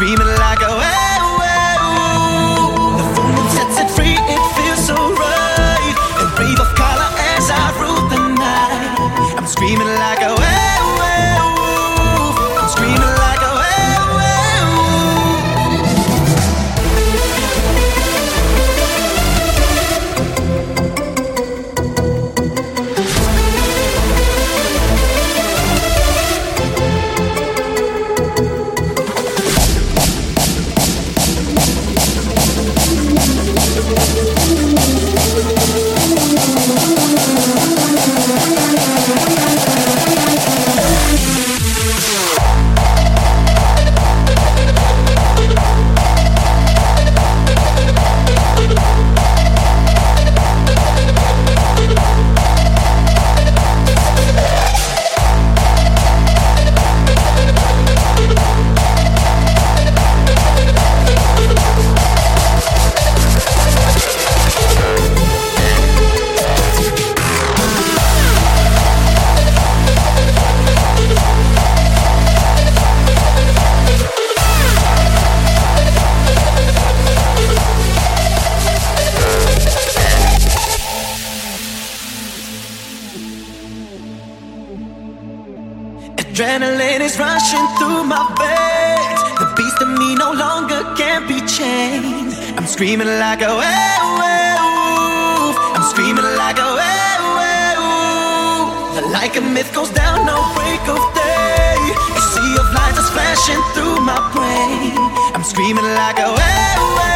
screaming like a werewolf. The full moon sets it free, it feels so right. A wave of color as I rule the night. I'm screaming like a werewolf. I'm screaming like a adrenaline is rushing through my veins. The beast in me no longer can be chained. I'm screaming like a werewolf. I'm screaming like a werewolf. Like a myth goes down, no break of day. A sea of light is flashing through my brain. I'm screaming like a werewolf.